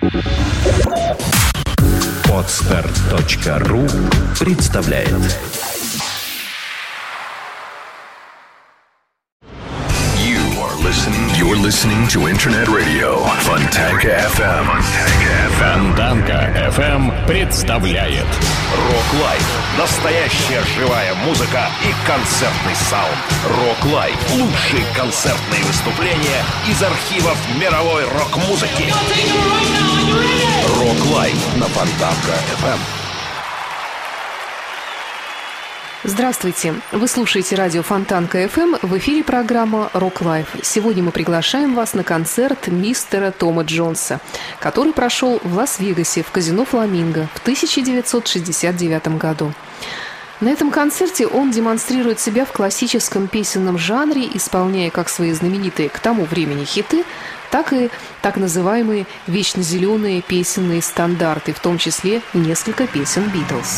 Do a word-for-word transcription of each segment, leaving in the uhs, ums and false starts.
Подстер точка ру представляет. You are listening, you're listening to Internet Radio Fontanka эф эм. Фонтанка эф эм представляет Рок Лайв. Настоящая живая музыка и концертный саунд. Рок Лайв. Лучшие концертные выступления из архивов мировой рок-музыки. Рок Лайв на Фонтанка эф эм. Здравствуйте! Вы слушаете радио Фонтанка эф эм. В эфире программа «Рок Лайф». Сегодня мы приглашаем вас на концерт мистера Тома Джонса, который прошел в Лас-Вегасе в казино «Фламинго» в тысяча девятьсот шестьдесят девятом году. На этом концерте он демонстрирует себя в классическом песенном жанре, исполняя как свои знаменитые к тому времени хиты, так и так называемые вечно зеленые песенные стандарты, в том числе несколько песен «Битлз».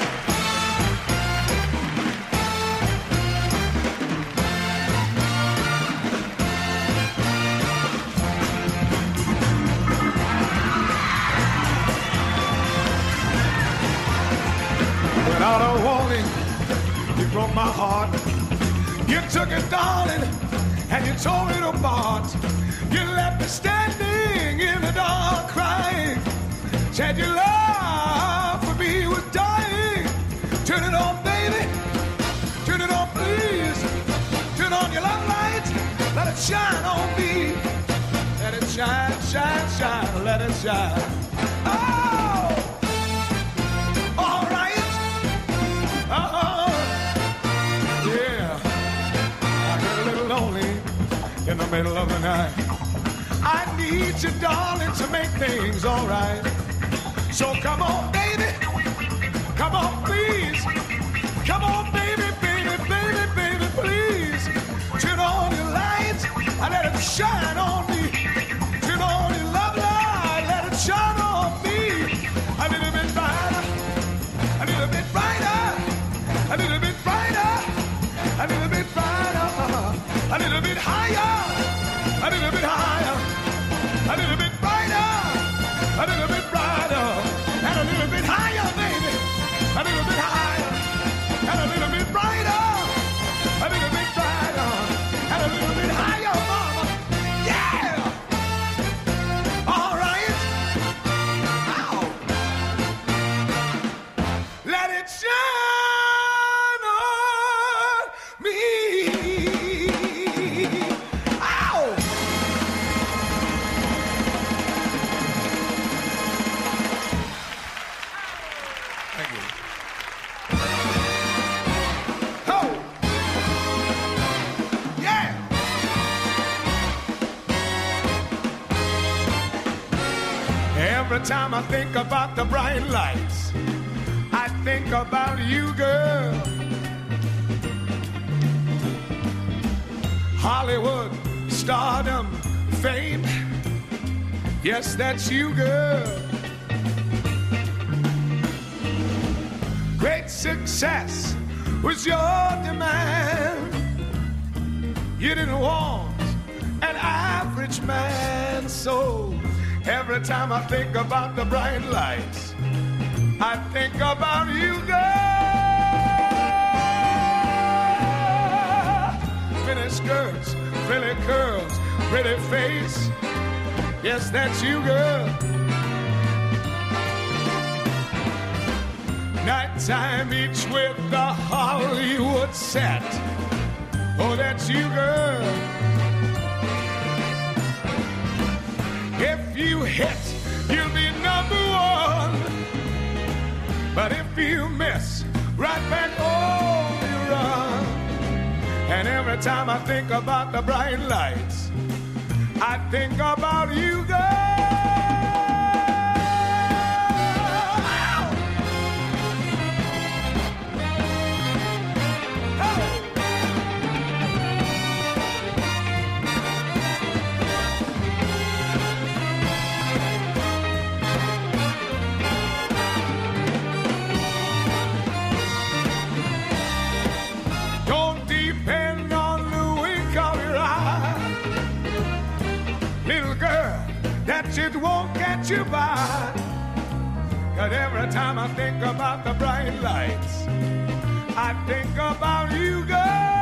Without a warning, you broke my heart. You took it, darling, and you tore it apart. You left me standing in the dark, crying. Said your love for me was dying. Turn it on, baby. Turn it on, please. Turn on your love light. Let it shine on me. Let it shine, shine, shine. Let it shine. Oh! All right. Oh, yeah. I get a little lonely in the middle of the night. I need you, darling, to make things all right. So come on, baby. Come on, please. Come on, baby, baby, baby, baby, please. Turn on your lights and let it shine on me. Turn on your love light, let it shine on me. A little bit brighter, a little bit brighter. A little bit brighter, a little bit brighter, a little bit higher, a little bit higher, a little bit brighter, a little bit brighter, and a little bit higher, baby, a little bit higher, and a little bit brighter, a little bit brighter, and a little bit higher, mama, yeah! All right, ow! Let it shine! Every time I think about the bright lights, I think about you, girl. Hollywood, stardom, fame. Yes, that's you, girl. Great success was your demand. You didn't want an average man, so every time I think about the bright lights, I think about you, girl. Pretty skirts, pretty curls, pretty face. Yes, that's you, girl. Nighttime each with the Hollywood set. Oh, that's you, girl. If you hit, you'll be number one. But if you miss, right back home you run. And every time I think about the bright lights, I think about you, girl. It won't get get you by. Cause every time I think about the bright lights, I think about you, girl.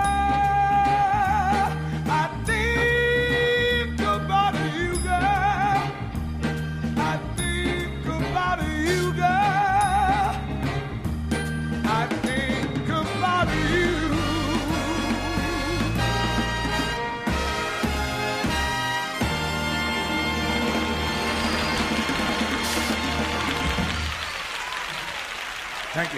I think about you, girl. I think about you, girl. I think about you. Thank you.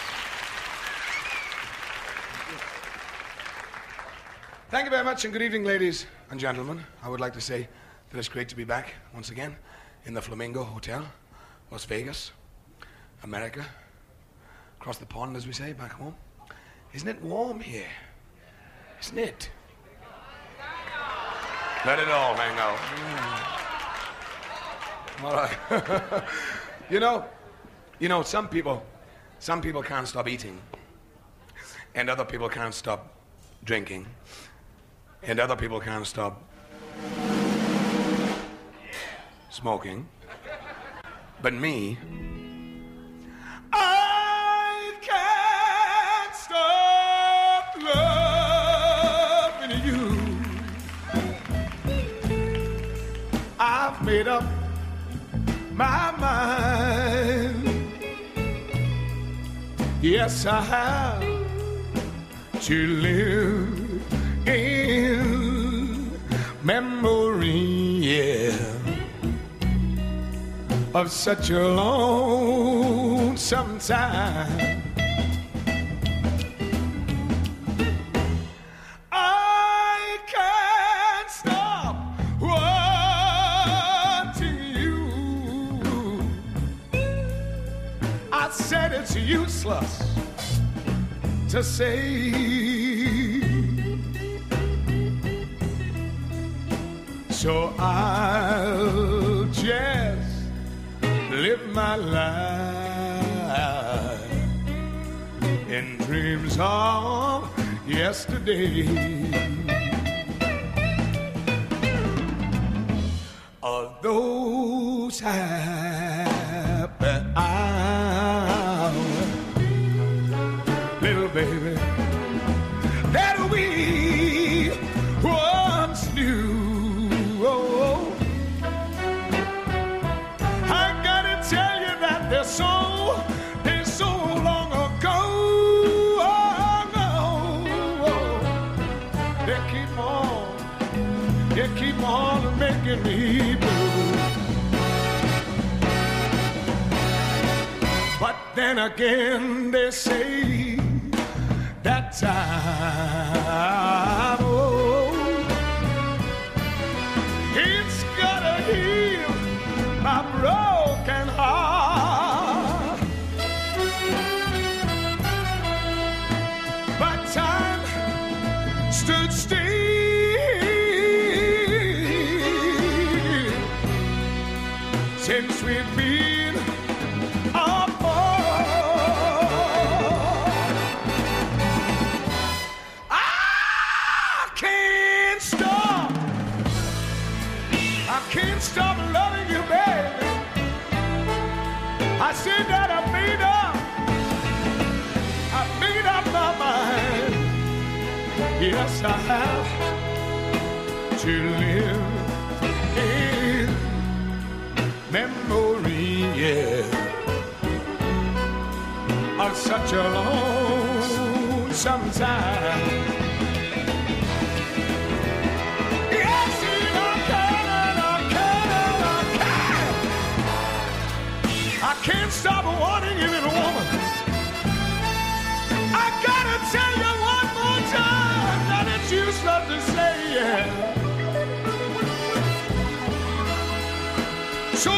Thank you very much, and good evening, ladies and gentlemen. I would like to say that it's great to be back once again in the Flamingo Hotel, Las Vegas, America, across the pond, as we say, back home. Isn't it warm here? Isn't it? Let it all hang out. Mm. All right. you know, you know, some people, some people can't stop eating, and other people can't stop drinking. And other people can't stop smoking. But me, I can't stop loving you. I've made up my mind. Yes, I have to live in memory, yeah, of such a lonesome time. I can't stop wanting you. I said it's useless to say. So I'll just live my life in dreams of yesterday. Of those happy hours, little baby, that we once knew. They're so, they're so long ago. Oh, no. They keep on, they keep on making me blue. But then again, they say that time, oh, it's gotta heal my broken heart. Stood still since we've been apart. I can't stop. I can't stop loving you, baby. I said that I made up. I made up my mind. Yes, I have to live in memory, yeah, of such a lonesome time. Yes, and I can, and I can, and I can. I can't stop wanting you, little woman. I gotta tell you one more time that it's useless to say, yeah. So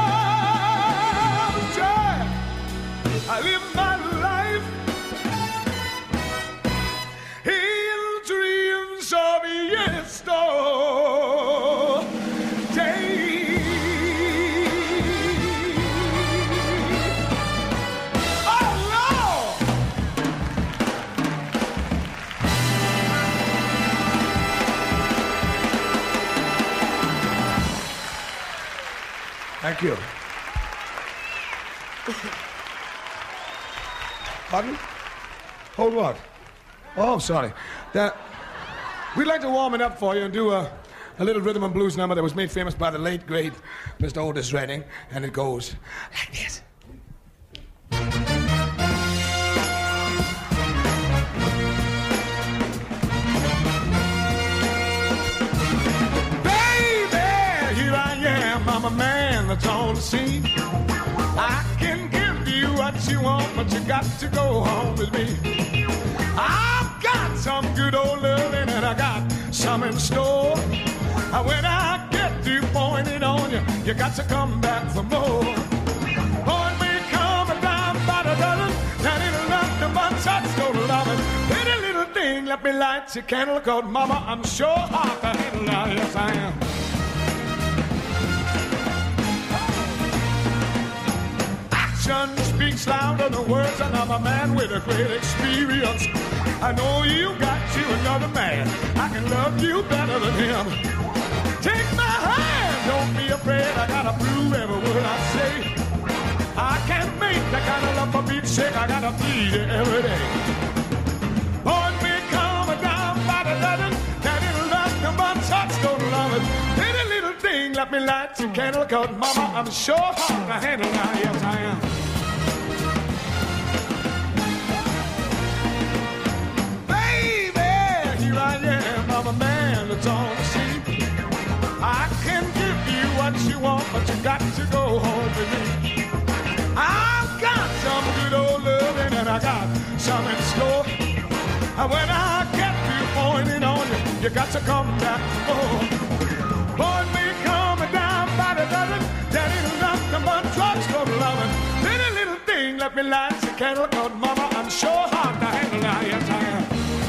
I'll try. I live my life in dreams of yesterday. Thank Thank you. Pardon? Hold what? Oh, sorry. That, we'd like to warm it up for you and do a, a little rhythm and blues number that was made famous by the late, great Mister Otis Redding, and it goes like this. I'm a man that's on the scene. I can give you what you want, but you got to go home with me. I've got some good old loving and I got some in store. When I get through pointing it on you, you got to come back for more. Boy, we come down by the dozen, that ain't nothing but touchstone loving. Pretty little thing, let me light your candle, 'cause mama, I'm sure hard to handle now, yes I am. Speaks louder than words, and I'm a man with a great experience. I know you got you another man. I can love you better than him. Take my hand, don't be afraid. I gotta prove every word I say. I can't make that kind of love for beat's sake. I gotta plead it every day. Boy, me come down by the dozen, that ain't nothing but touchstone loving. Pretty little thing, let me light your candle, 'cause mama, I'm sure hard to handle now, yes I am. I am, I'm a man that's on the scene. I can give you what you want, but you got to go home with me. I've got some good old loving and I got some in store. And when I get you pointing on you, you got to come back for more. Boy, me coming down by the dozen, that ain't nothing but drugstore loving. Little little thing, let me light your candle, 'cause mama, I'm sure hard to handle now, yes I am.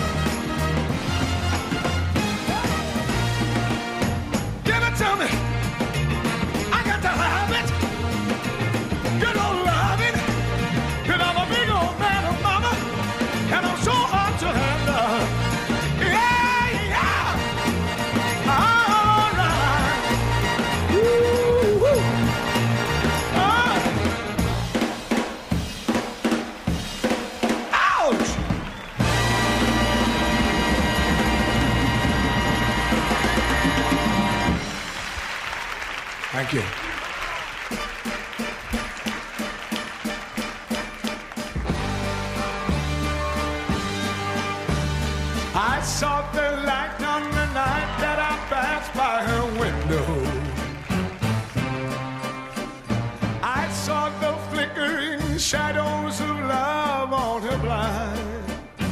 Tell me, I got to have it. Good old loving. And I'm a big old man of mama, and I'm so hard to handle. Yeah, yeah. All right. Woo, woo. Ah. Ouch. Thank you. I saw the light on the night that I passed by her window. I saw the flickering shadows of love on her blind.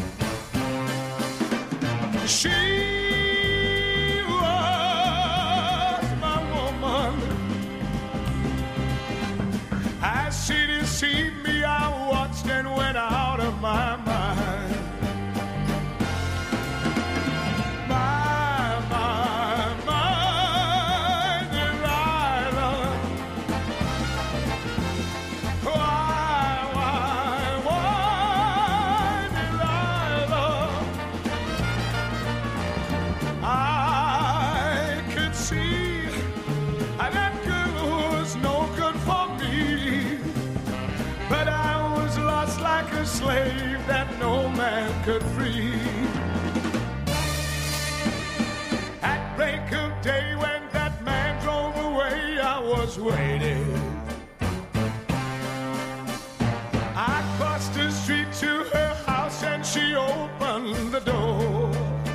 She she deceived me, I watched and went out of my mind. My, my, my Delilah. Why, why, why, Delilah? I could see that girl was no good for me. But I was lost like a slave that no man could free. At break of day when that man drove away, I was waiting. I crossed the street to her house and she opened the door.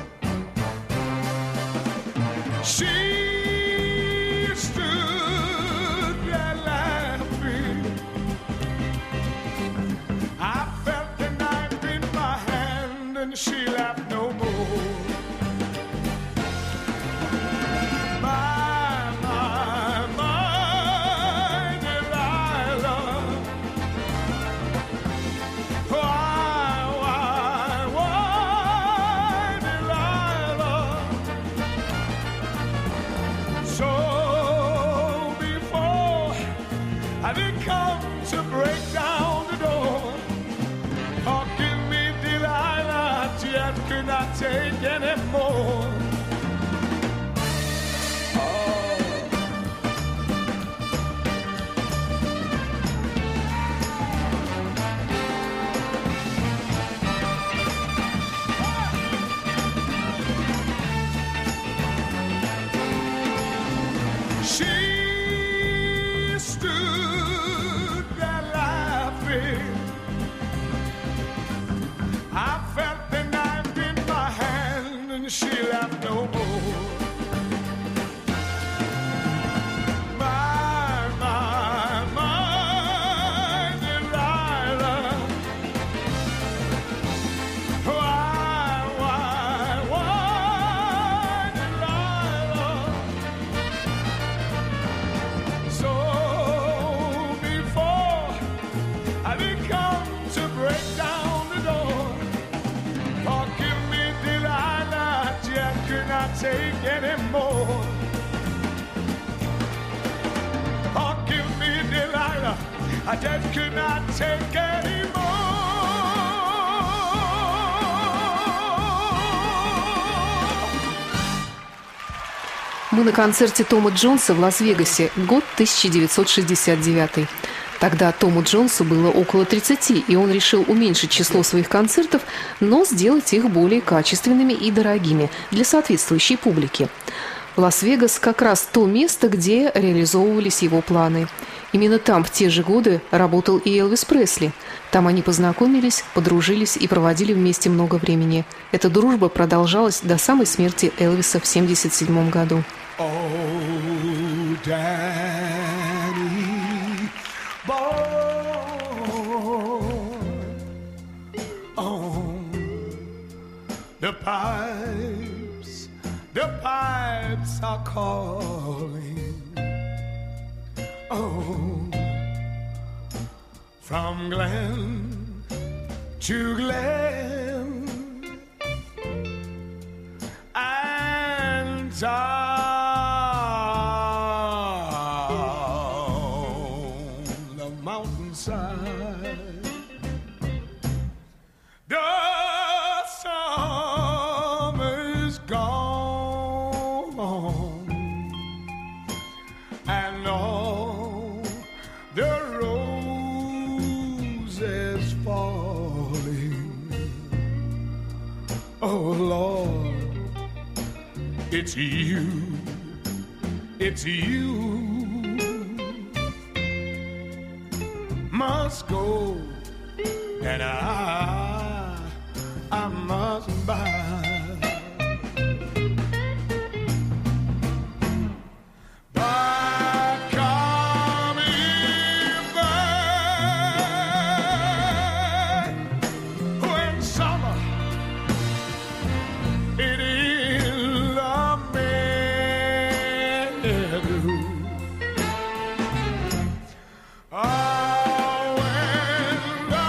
She stood there laughing. I felt the knife in my hand and she laughed no more. My, my, my Delilah. Why, why, why, Delilah? So before I did come to break down the door, yet could not take any more. Oh. take anymore. Oh, give me Delilah, I just could not take anymore. Мы на концерте Тома Джонса в Лас-Вегасе, год тысяча девятьсот шестьдесят девятый. Тогда Тому Джонсу было около тридцати, и он решил уменьшить число своих концертов, но сделать их более качественными и дорогими для соответствующей публики. Лас-Вегас как раз то место, где реализовывались его планы. Именно там в те же годы работал и Элвис Пресли. Там они познакомились, подружились и проводили вместе много времени. Эта дружба продолжалась до самой смерти Элвиса в семьдесят седьмом году. Oh, Danny boy, on the pipes, the pipes are calling. Oh, from Glen to Glen and down the mountainside. The summer's gone and all the roses falling. Oh Lord, it's you, it's you must go, and I, I must buy. But coming back when summer it is the meadow. Oh, when the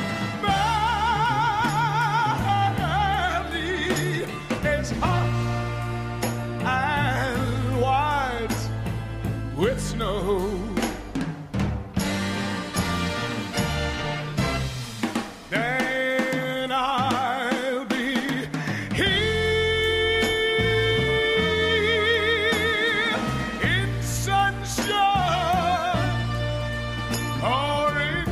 valley is hot and white with snow. Then I'll be here in sunshine or in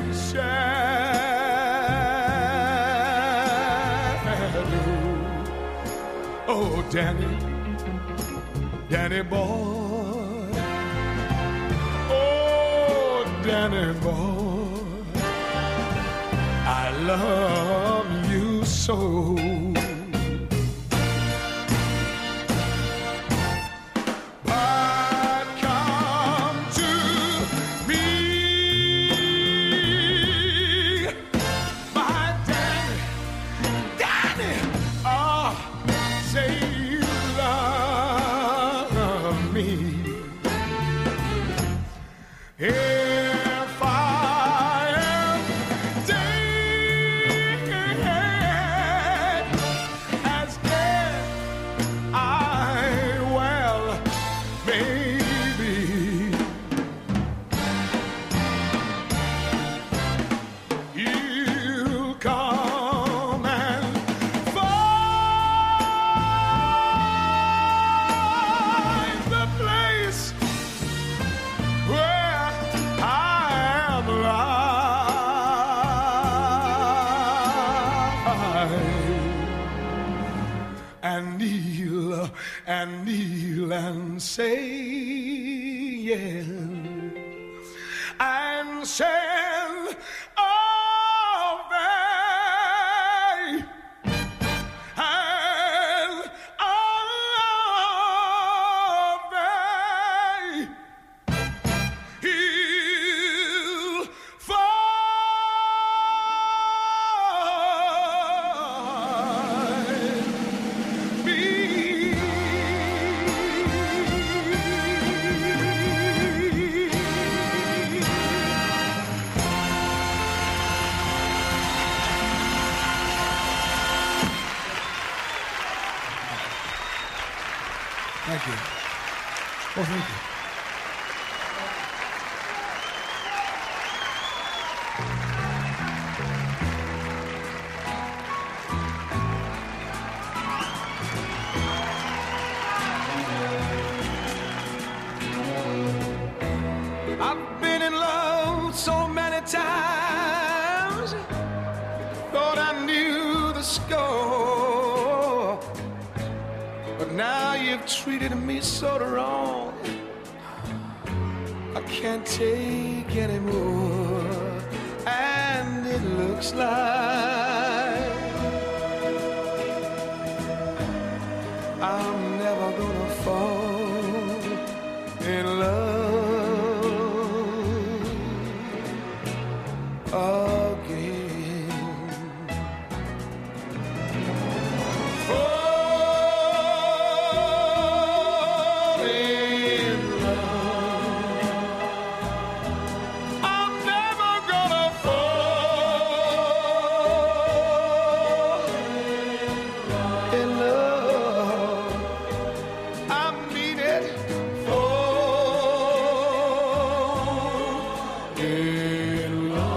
shadow. Oh, Danny, Danny boy, oh, Danny boy, I love you so. But come to me, my Danny, Danny, oh, say you love me. If I am dead, as dead I well may be, you'll come and find the place where I am lying, and kneel and kneel and say yes, and send away and away. He'll find me. you. Oh, thank you. I've been in love so many times, thought I knew the score, but now you've treated me so wrong, I can't take anymore. And it looks like I'm never gonna fall in love again. Fall in love. I'm never gonna fall in love. I mean it. Fall in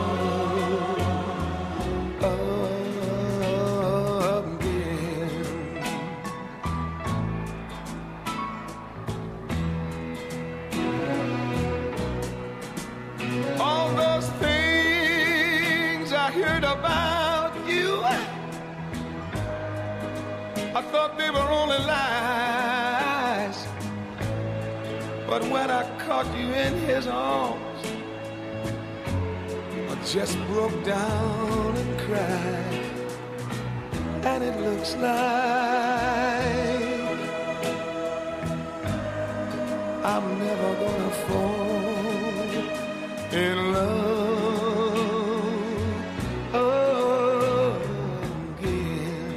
love again. All those things I heard about you, I thought they were only lies. But when I caught you in his arms, I just broke down and cried. And it looks like I'm never gonna fall in love again.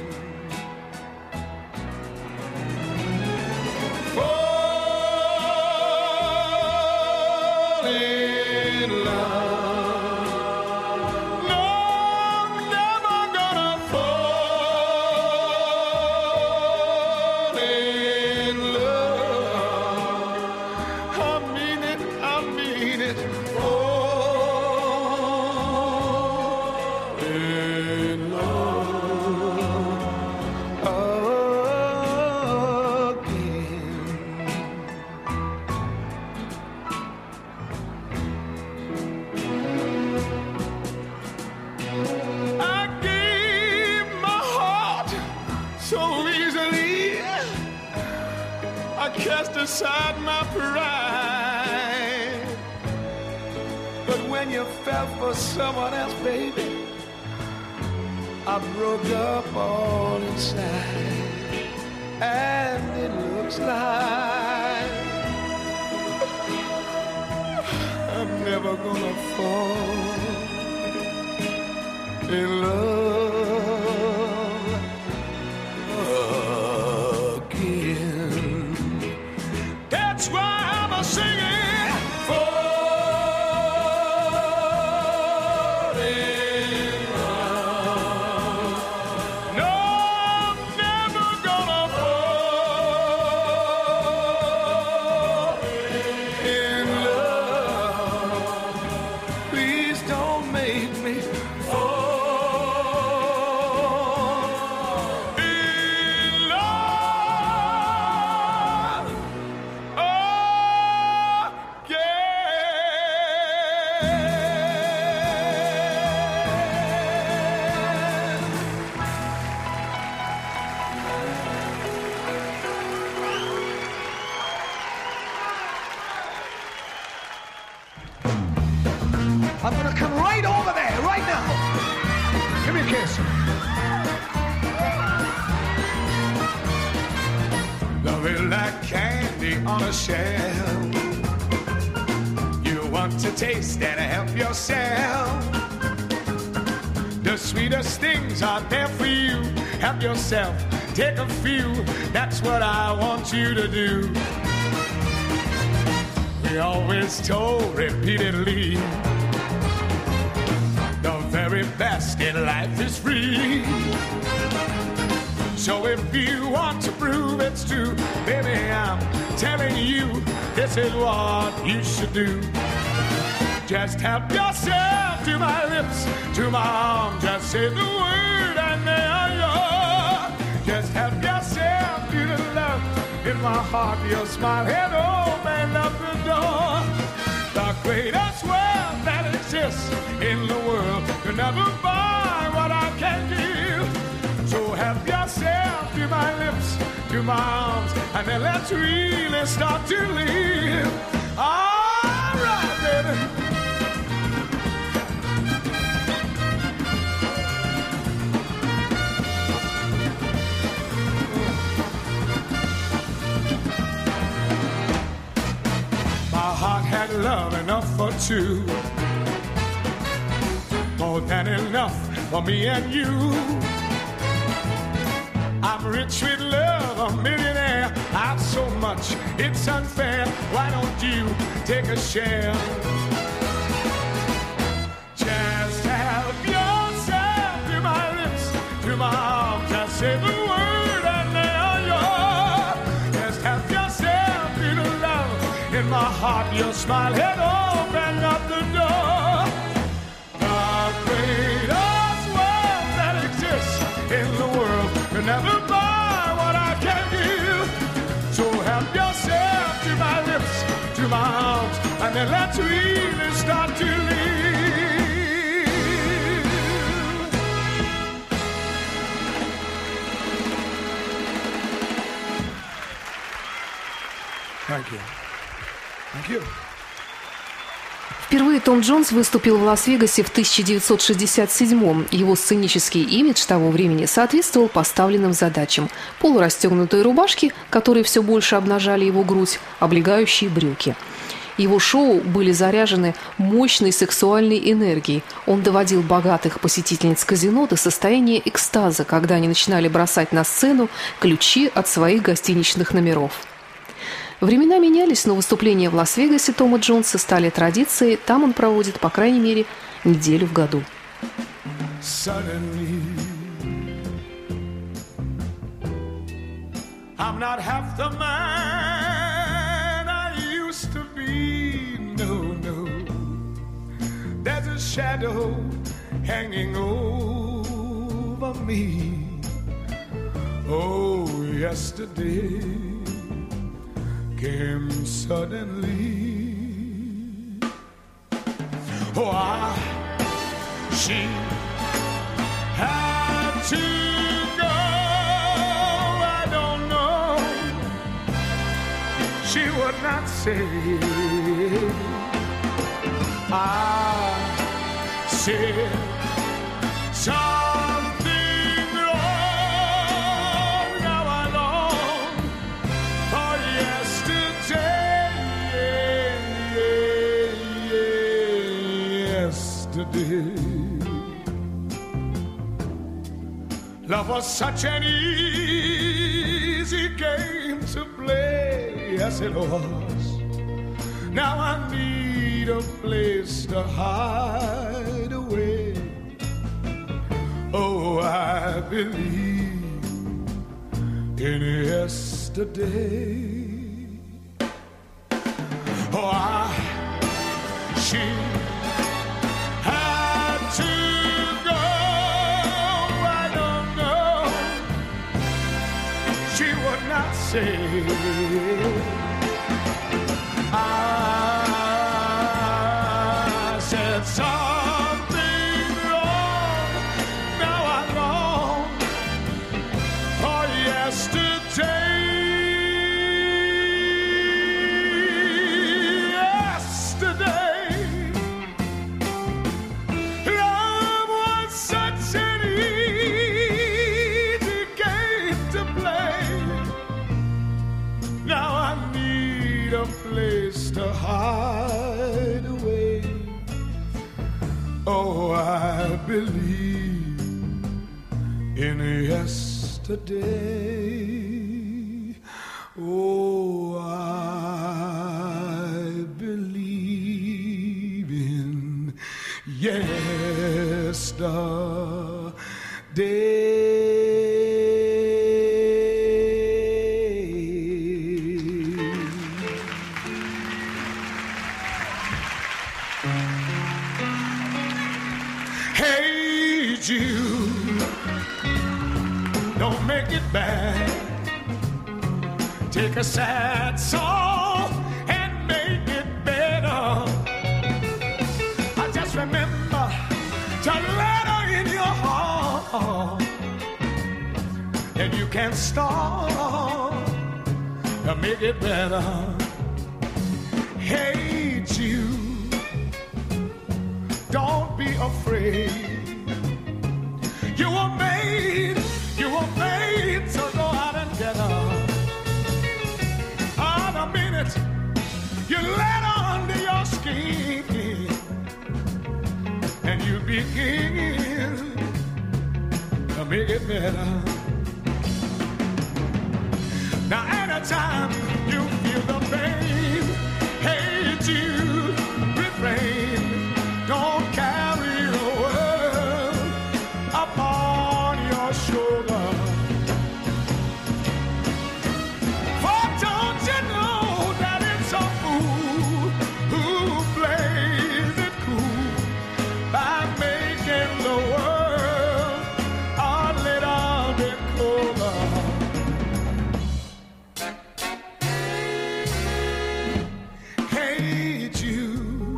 Fall in love. No, I'm never gonna fall in love. I mean it, I mean it. Fall in love again. I gave my heart so easily, I cast aside my pride. But when you fell for someone else, baby, I broke up all inside. And it looks like I'm never gonna fall in love again. That's why I'm a singing. Fall in love. No, I'm never gonna fall in love. Please don't make me fall in love again. I'm gonna come right over there, right now. Give me a kiss. Love it like candy on a shelf. You want to taste and help yourself. The sweetest things are there for you. Help yourself, take a few. That's what I want you to do. We always told repeatedly, the very best in life is free. So if you want to prove it's true, baby, I'm telling you this is what you should do. Just help yourself to my lips, to my arms. Just say the word and they are yours. Just help yourself to the love in my heart. Your smile had opened up the door. The greatest wealth that exists in the world could never buy what I can give. So help yourself to my lips, to my arms, and then let's really start to live. All right, baby. My heart had love enough for two, more than enough for me and you. I'm rich with love, a millionaire. I've so much, it's unfair. Why don't you take a share? Just help yourself to my lips, to my arms. Just say the word and they are yours. Just help yourself to the love in my heart. Your smile had opened up the door. The greatest wealth that exists in the world can never buy what I can give. So help yourself to my lips, to my arms, and then let's really start to live. Thank you. Thank you. Впервые Том Джонс выступил в Лас-Вегасе в тысяча девятьсот шестьдесят седьмом. Его сценический имидж того времени соответствовал поставленным задачам. Полурастегнутые рубашки, которые все больше обнажали его грудь, облегающие брюки. Его шоу были заряжены мощной сексуальной энергией. Он доводил богатых посетительниц казино до состояния экстаза, когда они начинали бросать на сцену ключи от своих гостиничных номеров. Времена менялись, но выступления в Лас-Вегасе Тома Джонса стали традицией. Там он проводит, по крайней мере, неделю в году. Suddenly, I'm not half the man I used to be. No, no. There's a shadow hanging over me. Oh, yesterday came suddenly. Oh, I, she had to go. I don't know. She would not say. I said something wrong. Now I long for yesterday. Yesterday. Love was such an easy game to play. Yes, it was. Now I need a place to hide away. Oh, I believe in yesterday. Oh, I, she had to go. I don't know. She would not say. I said something wrong. Now I long for yesterday. Yesterday, love was such an easy game to play. Now I need a place to hide away. Oh, I believe in yesterday. Oh, I believe in yesterday. you. Don't make it bad. Take a sad song and make it better. I just remember to let her in your heart, and you can start to make it better. Hey Jude, don't be afraid. You were made, you were made to go out and get her. On a minute, you let her under your skin, and you begin to make it better. Now anytime you feel the pain, hey Jude, refrain. Don't carry the world upon your shoulder. For don't you know that it's a fool who plays it cool by making the world a little bit colder. Hey Jude,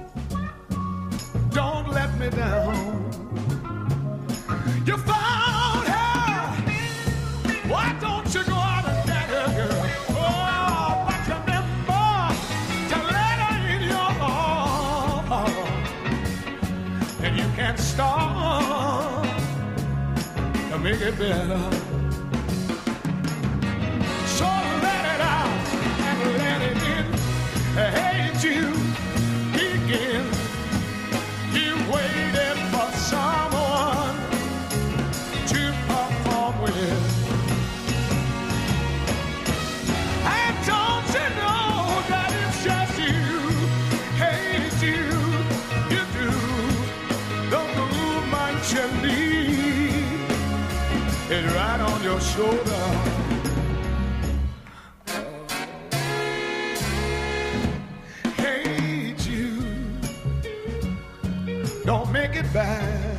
don't let me down. You found her. Why don't you go out and get her, girl? Oh, but remember to let her in your heart, and you can start to make it better. So let it out and let it in. Hey Jude, begin. You waited for someone to perform with. And don't you know that it's just you? Hey Jude, you do the movement you need. It's right on your shoulder. Hey Jude, don't make it bad.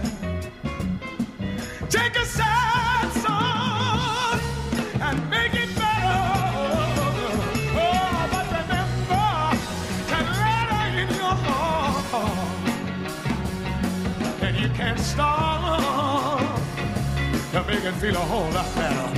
Take a sad song and make it better. Oh, but remember to let her in your heart, and you can start to make it feel a whole lot better.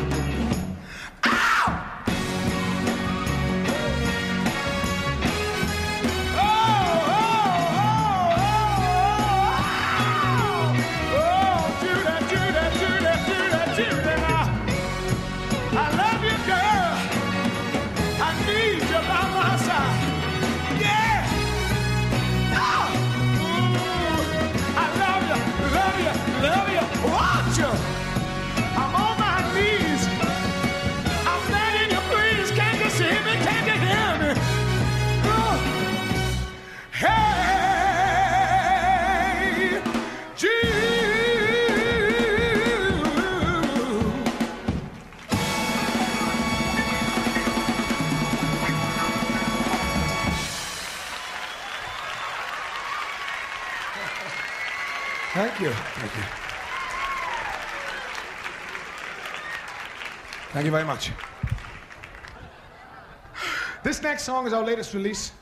Love you, watch you. I'm on my knees. I'm begging you, please. Can't you see me? Can't you hear me? Oh. Hey, Jude. Thank you. Thank you. Thank you very much. This next song is our latest release.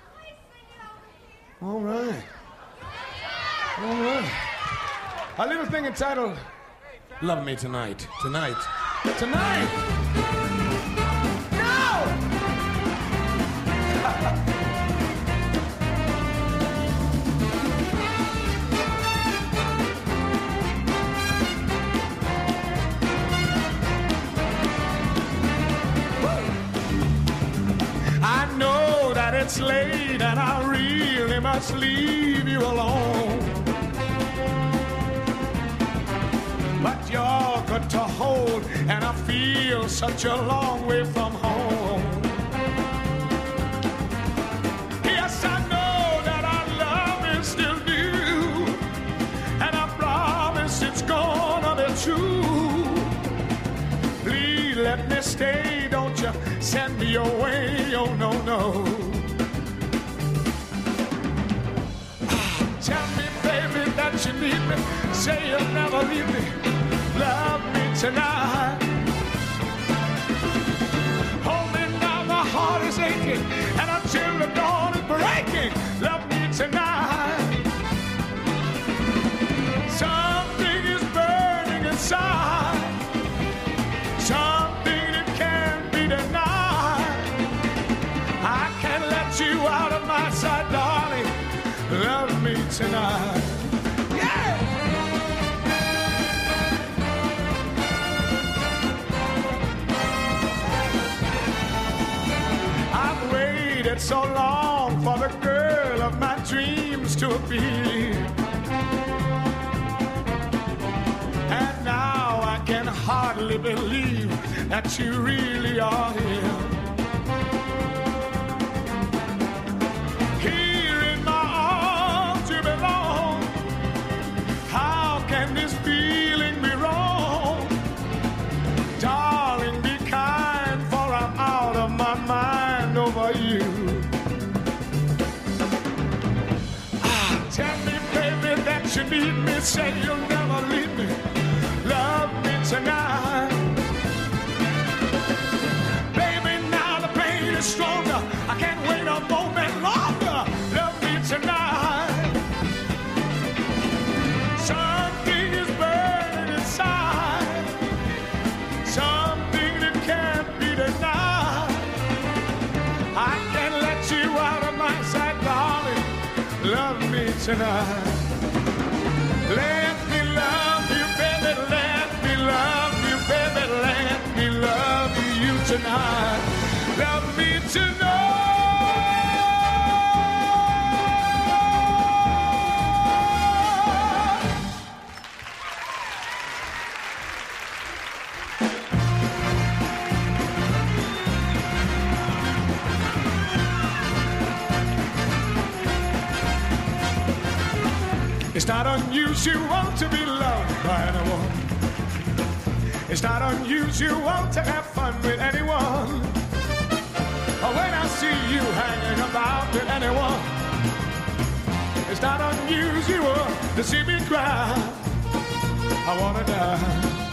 All right. All right. A little thing entitled Love Me Tonight. Tonight. Tonight. No! I know that it's late and I really must leave you alone, but you're good to hold and I feel such a long way from home. Yes, I know that our love is still new, and I promise it's gonna be true. Please let me stay, don't you send me away, oh no, no. Tell me, baby, that that you need me. Say you'll never leave me. Love me tonight. Hold me now, my heart is aching, and until the dawn is breaking, love me tonight. Something is burning inside, something that can't be denied. I can't let you out of my sight, darling. Love me tonight. Yeah! I've waited so long for the girl of my dreams to appear, and now I can hardly believe that you really are here. Here in my arms you belong. How can this feeling be wrong? Darling, be kind, for I'm out of my mind over you. Ah, tell me, baby, that you need me. Say you'll never leave me. Love me tonight. Baby, now the pain is stronger. I can't wait a moment longer. Love me tonight. Something is burning inside, something that can't be denied. I can't let you out of my sight, darling. Love me tonight. Let me love you, baby. Let me love you, baby. Let me love you tonight. Love me tonight. It's not unusual to be loved by anyone. It's not unusual to have fun with anyone. Or when I see you hanging about with anyone, it's not unusual to see me cry. I wanna die.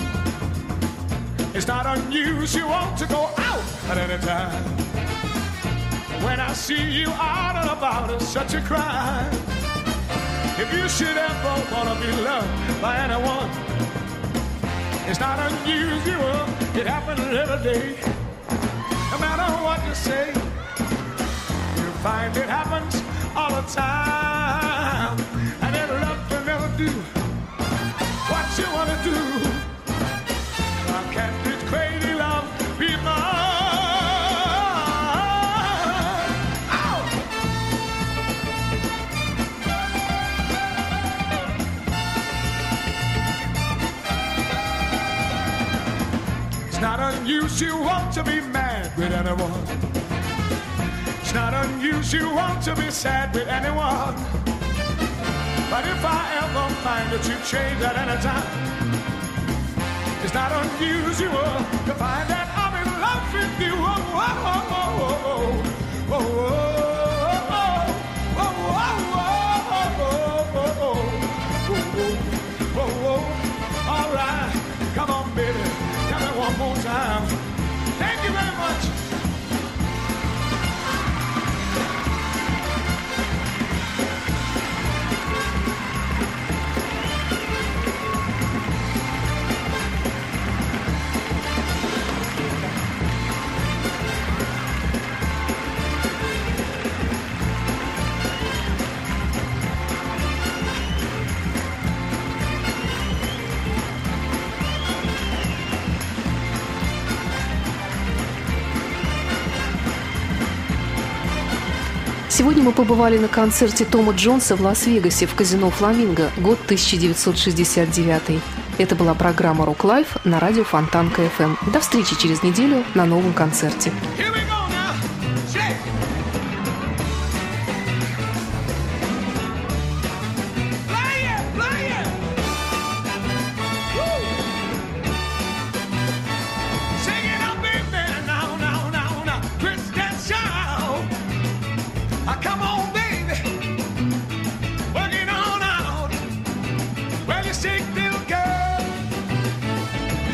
It's not unusual to go out at any time. When I see you out and about, it's such a crime. If you should ever wanna be loved by anyone, it's not unusual, it happens every day. No matter what you say, you'll find it happens all the time. And then love can never do what you wanna do. Why can't this crazy love be mine? It's not unusual to be mad with anyone. It's not unusual to be sad with anyone. But if I ever find that you change at any time, it's not unusual to find that I'm in love with you. Oh, oh, oh, oh, oh, oh, oh, oh, oh. All right, come on, baby. One more time. Thank you very much. Сегодня мы побывали на концерте Тома Джонса в Лас-Вегасе в казино «Фламинго», год тысяча девятьсот шестьдесят девятый. Это была программа «Рок Лайф» на радио Фонтанка эф эм. До встречи через неделю на новом концерте. Come on, baby, work it on out.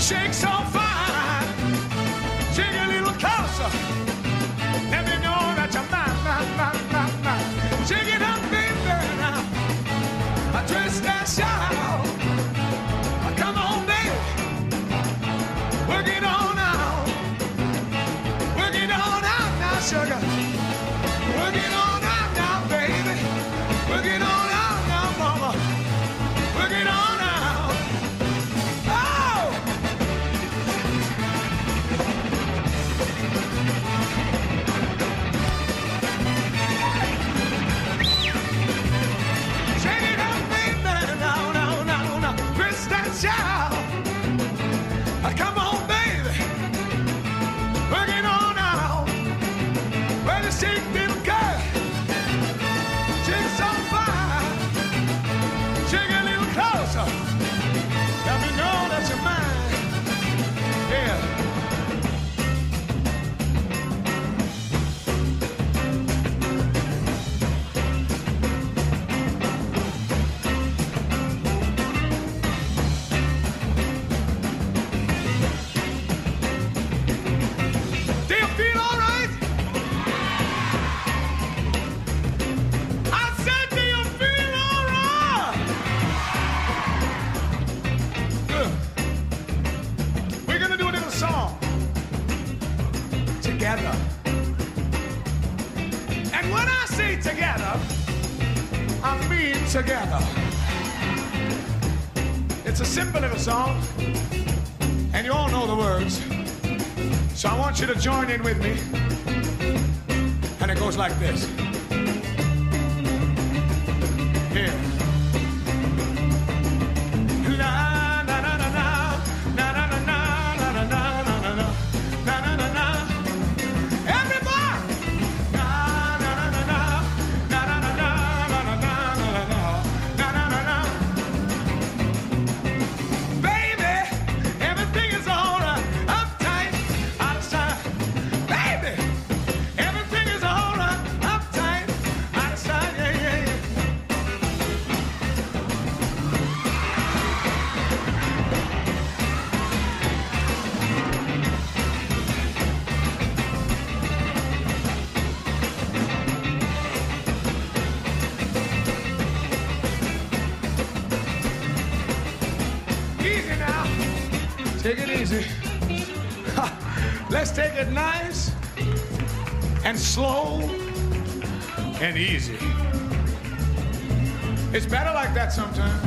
shake so fine. Shake a little closer. Let me know that you're mine, mine, mine, mine, mine. Shake it up, baby, now. I twist and shout. Come on, baby. Work it on out. Work it on out now, sugar. Work it on out now, baby. Work it on out now, mama. Work it on out. Oh! Shake it up, baby. Now, now, now, now. Twist and shout. Come on, baby. Work it on out. Well, you shake them good. Shake so fine. Shake a little closer. Let me know that you're mine. Yeah. Do you feel all right? I said, do you feel all right? Good. We're gonna do a little song together. And when I say together, I mean together. It's a simple little song, and you all know the words. So I want you to join in with me. And it goes like this. Here. La na na na na na na na na na na na na na na na na. Everybody. Na na na na na na na na na na na na na na na. Baby, everything is alright. Uptight. Baby, everything is alright, uptight, out of sight, yeah, yeah, yeah. Easy now, take it easy. Let's take it nice and slow and easy. It's better like that sometimes.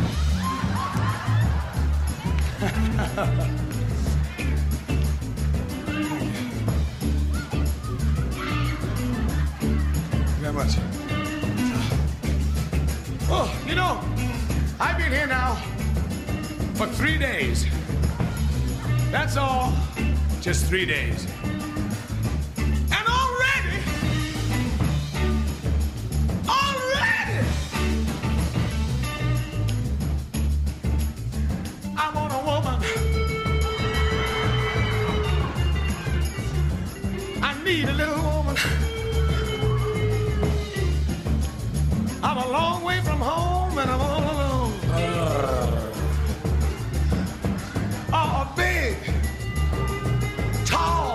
Very much. Oh, you know, I've been here now for three days. That's all. Just three days. And already, already, I want a woman. I need a little woman. I'm a long way from home and I'm all alone. Oh, big. Tall.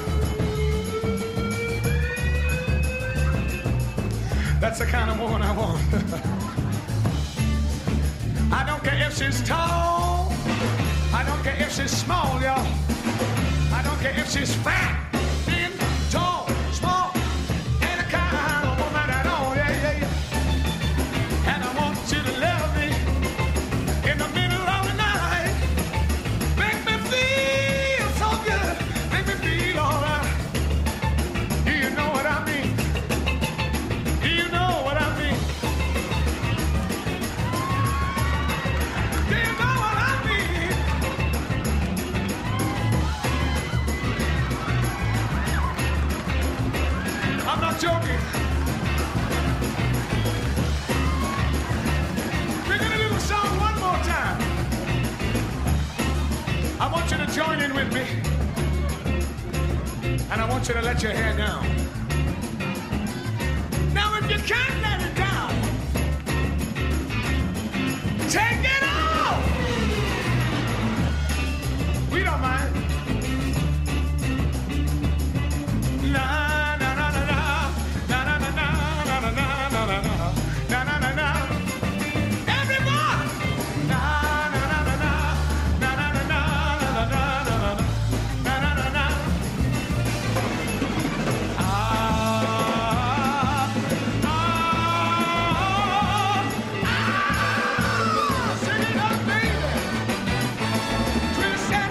That's the kind of woman I want. I don't care if she's tall. I don't care if she's small, y'all. I don't care if she's fat, thin, tall, small. Any kind of woman at all, yeah, yeah, yeah. And I want you to love me in the middle of the night. Make me feel so good. Make me feel alright. Do you know what I mean? Do you know what I mean? Do you know what I mean? I'm not joking. We're gonna do the song one more time. I want you to join in with me. And I want you to let your hair down. Now if you can't let it down, take it off. We don't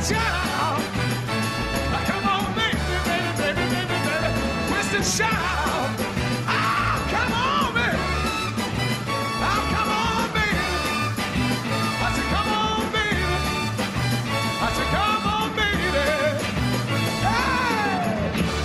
shout. Come on, baby, baby, baby, baby, baby. Twist and shout. Ah, come on, baby. Ah, come on, baby. I said, come on, baby. I said, come on, baby. Hey!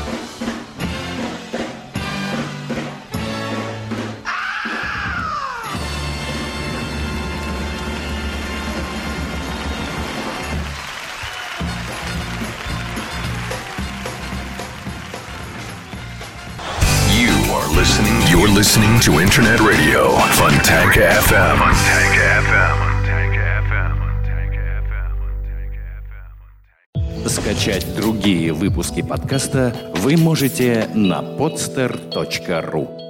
You are listening. You're listening to Internet Radio Fontanka эф эм. Fontanka эф эм. Скачать другие выпуски подкаста вы можете на podster точка ру.